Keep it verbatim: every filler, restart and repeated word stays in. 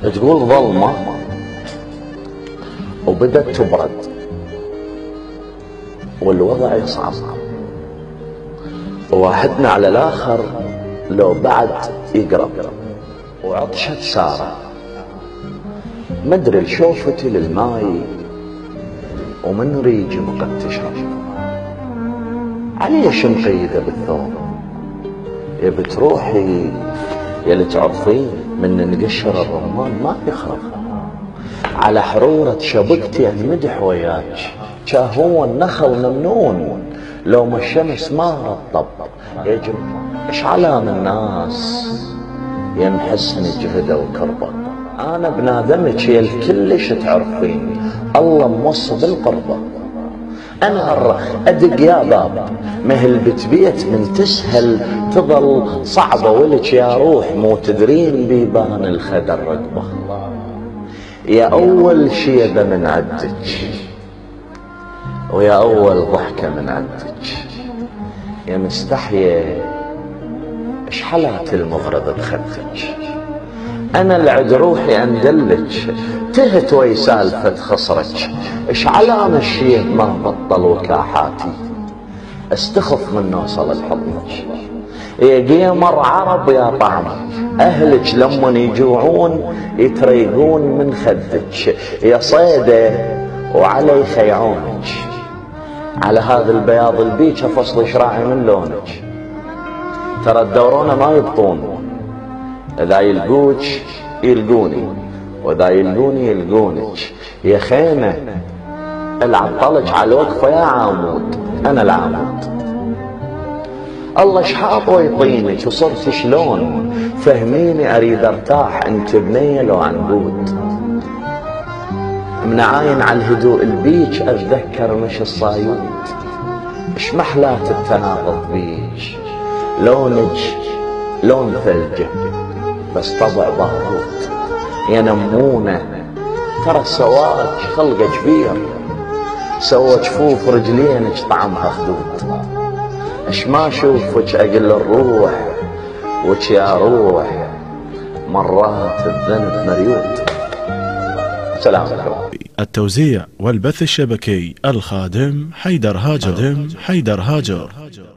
تقول ظلمة وبدت تبرد والوضع يصعب، وواحدنا على الاخر لو بعد يقرب، وعطشت سارة مدري شوفتي للماي ومن ريجي مقد تشرب. عليش مقيدة بالثوب يا بتروحي يا اللي تعرفين من نقشر الرمان ما يخرب. على حرورة شبكتي انمدح وياك هو النخل ممنون لو ما الشمس ما رطب. يا جماعة ايش علام الناس يمحسن جهده وكربه. انا بنادمك يا الكلش تعرفين الله موصي بالقربه. انا ارخ ادق يا باب مهل بتبيت من تسهل تظل صعبه ولك يا روح مو تدرين بيبان الخدر رقبه. يا اول شيبه من عدك ويا اول ضحكه من عدك يا مستحيه ايش حلات المغرض بخدك. انا العد روحي اندلك تهت وي سالفه خصرك. ايش علام الشيب ما بطل وكاحاتي استخف من نوصل لحضنك. يا قيمر عرب يا طعم اهلك لمن يجوعون يتريقون من خدك. يا صيده وعلي خيعونك على هذا البياض البيج فصل شراعي من لونك. ترى الدورونه ما يبطون اذا يلقوك يلقوني واذا يلقوني يلقونك. يا خيمه العطلك على الوقفه يا عمود انا العمود. الله شحاط ويطينك وصرت شلون فهميني اريد ارتاح انت بنيه لو عنقود. من عاين على الهدوء البيج اتذكر مش الصايود. اش محلات التناقض بيج لونك لون ثلجه بس طبع بارود. يا نمونه ترى سواك خلقه كبير سوى جفوف رجلينك طعمها خدود. اش ما اشوفك اقل الروح وش يا روح مرات الذنب مريود. سلام عليكم. التوزيع والبث الشبكي الخادم حيدر هاجر. حيدر هاجر.